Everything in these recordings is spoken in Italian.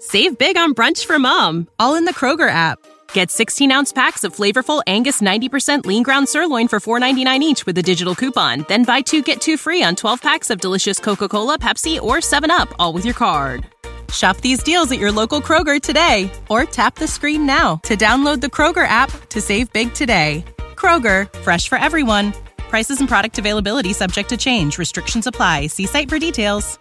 Save big on brunch for mom, all in the Kroger app. Get 16-ounce packs of flavorful Angus 90% lean ground sirloin for $4.99 each with a digital coupon. Then buy 2, get 2 free on 12 packs of delicious Coca-Cola, Pepsi, or 7-Up, all with your card. Shop these deals at your local Kroger today, or tap the screen now to download the Kroger app to save big today. Kroger, fresh for everyone. Prices and product availability subject to change. Restrictions apply. See site for details.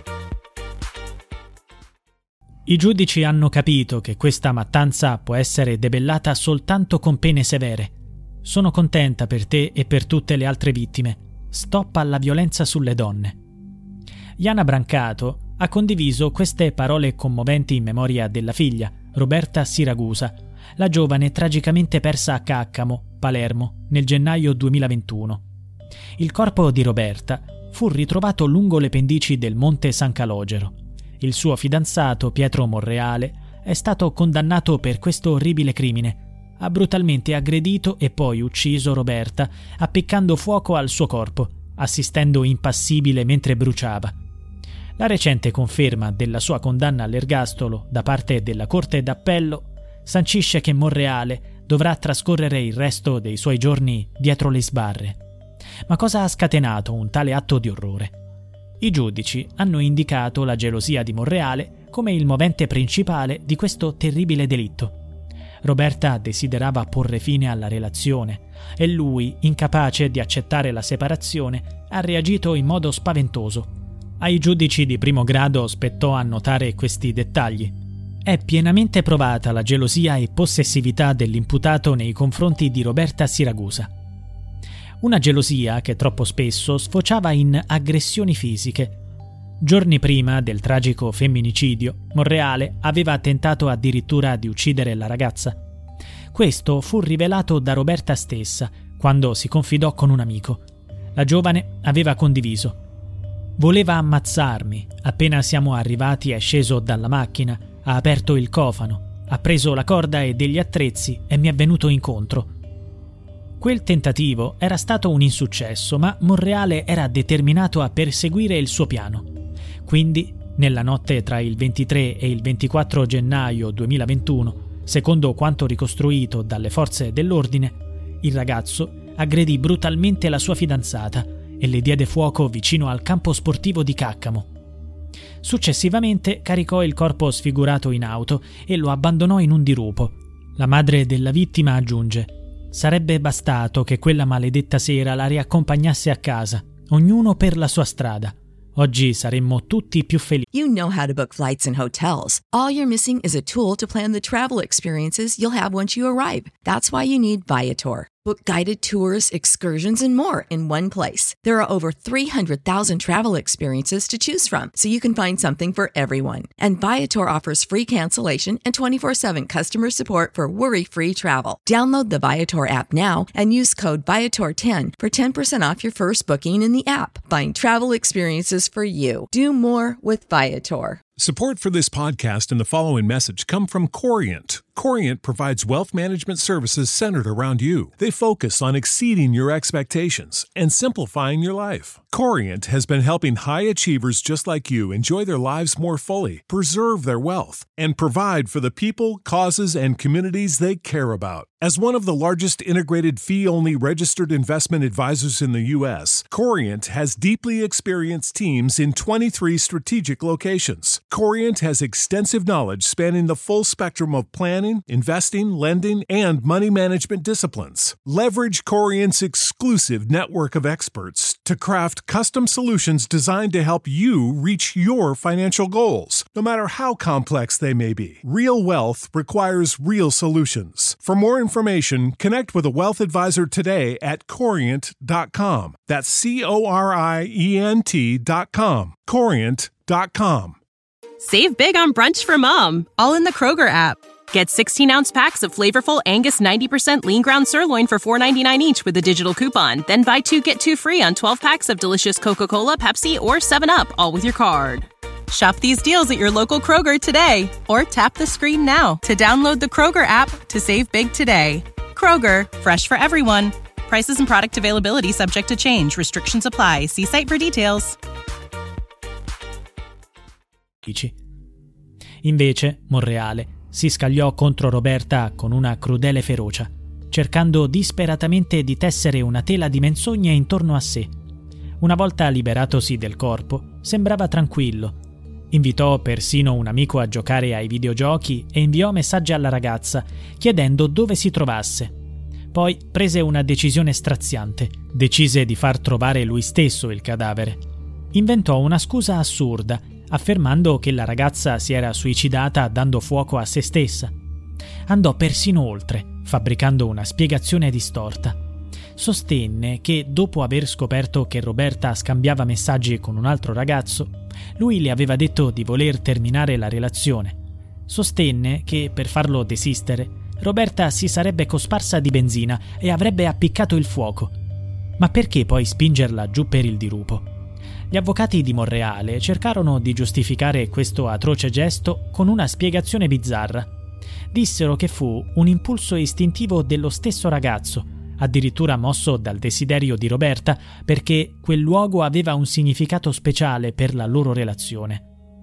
I giudici hanno capito che questa mattanza può essere debellata soltanto con pene severe. Sono contenta per te e per tutte le altre vittime. Stop alla violenza sulle donne. Jana Brancato ha condiviso queste parole commoventi in memoria della figlia, Roberta Siragusa, la giovane tragicamente persa a Caccamo, Palermo, nel gennaio 2021. Il corpo di Roberta fu ritrovato lungo le pendici del Monte San Calogero. Il suo fidanzato, Pietro Monreale, è stato condannato per questo orribile crimine. Ha brutalmente aggredito e poi ucciso Roberta, appiccando fuoco al suo corpo, assistendo impassibile mentre bruciava. La recente conferma della sua condanna all'ergastolo da parte della Corte d'Appello sancisce che Monreale dovrà trascorrere il resto dei suoi giorni dietro le sbarre. Ma cosa ha scatenato un tale atto di orrore? I giudici hanno indicato la gelosia di Monreale come il movente principale di questo terribile delitto. Roberta desiderava porre fine alla relazione e lui, incapace di accettare la separazione, ha reagito in modo spaventoso. Ai giudici di primo grado spettò annotare questi dettagli. È pienamente provata la gelosia e possessività dell'imputato nei confronti di Roberta Siragusa. Una gelosia che troppo spesso sfociava in aggressioni fisiche. Giorni prima del tragico femminicidio, Monreale aveva tentato addirittura di uccidere la ragazza. Questo fu rivelato da Roberta stessa quando si confidò con un amico. La giovane aveva condiviso: voleva ammazzarmi. Appena siamo arrivati è sceso dalla macchina, ha aperto il cofano, ha preso la corda e degli attrezzi e mi è venuto incontro. Quel tentativo era stato un insuccesso, ma Monreale era determinato a perseguire il suo piano. Quindi, nella notte tra il 23 e il 24 gennaio 2021, secondo quanto ricostruito dalle forze dell'ordine, il ragazzo aggredì brutalmente la sua fidanzata e le diede fuoco vicino al campo sportivo di Caccamo. Successivamente caricò il corpo sfigurato in auto e lo abbandonò in un dirupo. La madre della vittima aggiunge: sarebbe bastato che quella maledetta sera la riaccompagnasse a casa, ognuno per la sua strada. Oggi saremmo tutti più felici. You know how to book flights and hotels. All you're missing is a tool to plan the travel experiences you'll have once you arrive. That's why you need Viator. Book guided tours, excursions, and more in one place. There are over 300,000 travel experiences to choose from, so you can find something for everyone. And Viator offers free cancellation and 24/7 customer support for worry-free travel. Download the Viator app now and use code Viator10 for 10% off your first booking in the app. Find travel experiences for you. Do more with Viator. Support for this podcast and the following message come from Corient. Corient provides wealth management services centered around you. They focus on exceeding your expectations and simplifying your life. Corient has been helping high achievers just like you enjoy their lives more fully, preserve their wealth, and provide for the people, causes, and communities they care about. As one of the largest integrated fee-only registered investment advisors in the U.S., Corient has deeply experienced teams in 23 strategic locations. Corient has extensive knowledge spanning the full spectrum of planning, investing, lending, and money management disciplines. Leverage Corient's exclusive network of experts to craft custom solutions designed to help you reach your financial goals, no matter how complex they may be. Real wealth requires real solutions. For more information, connect with a wealth advisor today at Corient.com. That's Corient.com. Corient.com. Save big on brunch for mom, all in the Kroger app. Get 16-ounce packs of flavorful Angus 90% lean ground sirloin for $4.99 each with a digital coupon. Then buy 2, get 2 free on 12 packs of delicious Coca-Cola, Pepsi, or 7-Up, all with your card. Shop these deals at your local Kroger today, or tap the screen now to download the Kroger app to save big today. Kroger, fresh for everyone. Prices and product availability subject to change. Restrictions apply. See site for details. Invece, Monreale si scagliò contro Roberta con una crudele ferocia, cercando disperatamente di tessere una tela di menzogne intorno a sé. Una volta liberatosi del corpo, sembrava tranquillo. Invitò persino un amico a giocare ai videogiochi e inviò messaggi alla ragazza chiedendo dove si trovasse. Poi prese una decisione straziante. Decise di far trovare lui stesso il cadavere. Inventò una scusa assurda, affermando che la ragazza si era suicidata dando fuoco a se stessa. Andò persino oltre, fabbricando una spiegazione distorta. Sostenne che, dopo aver scoperto che Roberta scambiava messaggi con un altro ragazzo, lui le aveva detto di voler terminare la relazione. Sostenne che, per farlo desistere, Roberta si sarebbe cosparsa di benzina e avrebbe appiccato il fuoco. Ma perché poi spingerla giù per il dirupo? Gli avvocati di Monreale cercarono di giustificare questo atroce gesto con una spiegazione bizzarra. Dissero che fu un impulso istintivo dello stesso ragazzo, addirittura mosso dal desiderio di Roberta, perché quel luogo aveva un significato speciale per la loro relazione.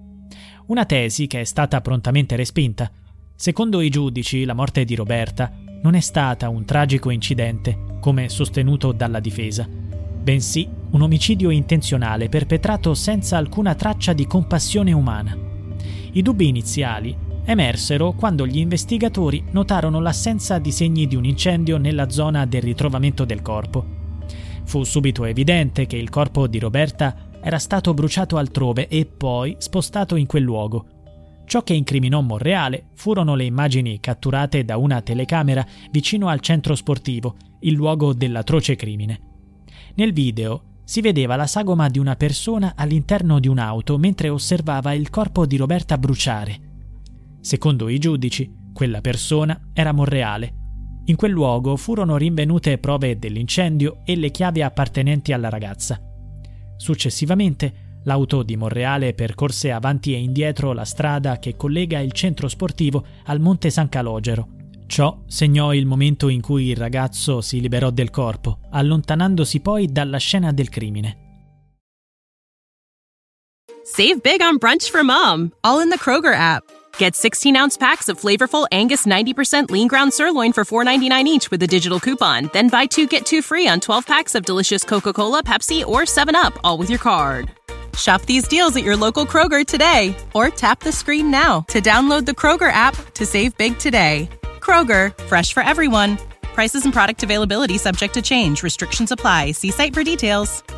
Una tesi che è stata prontamente respinta. Secondo i giudici, la morte di Roberta non è stata un tragico incidente, come sostenuto dalla difesa, bensì un omicidio intenzionale perpetrato senza alcuna traccia di compassione umana. I dubbi iniziali emersero quando gli investigatori notarono l'assenza di segni di un incendio nella zona del ritrovamento del corpo. Fu subito evidente che il corpo di Roberta era stato bruciato altrove e poi spostato in quel luogo. Ciò che incriminò Monreale furono le immagini catturate da una telecamera vicino al centro sportivo, il luogo dell'atroce crimine. Nel video si vedeva la sagoma di una persona all'interno di un'auto mentre osservava il corpo di Roberta bruciare. Secondo i giudici, quella persona era Monreale. In quel luogo furono rinvenute prove dell'incendio e le chiavi appartenenti alla ragazza. Successivamente, l'auto di Monreale percorse avanti e indietro la strada che collega il centro sportivo al Monte San Calogero. Ciò segnò il momento in cui il ragazzo si liberò del corpo, allontanandosi poi dalla scena del crimine. Save big on brunch for mom, all in the Kroger app. Get 16-ounce packs of flavorful Angus 90% lean ground sirloin for $4.99 each with a digital coupon. Then buy 2, get 2 free on 12 packs of delicious Coca-Cola, Pepsi, or 7-Up, all with your card. Shop these deals at your local Kroger today, or tap the screen now to download the Kroger app to save big today. Kroger, fresh for everyone. Prices and product availability subject to change. Restrictions apply. See site for details.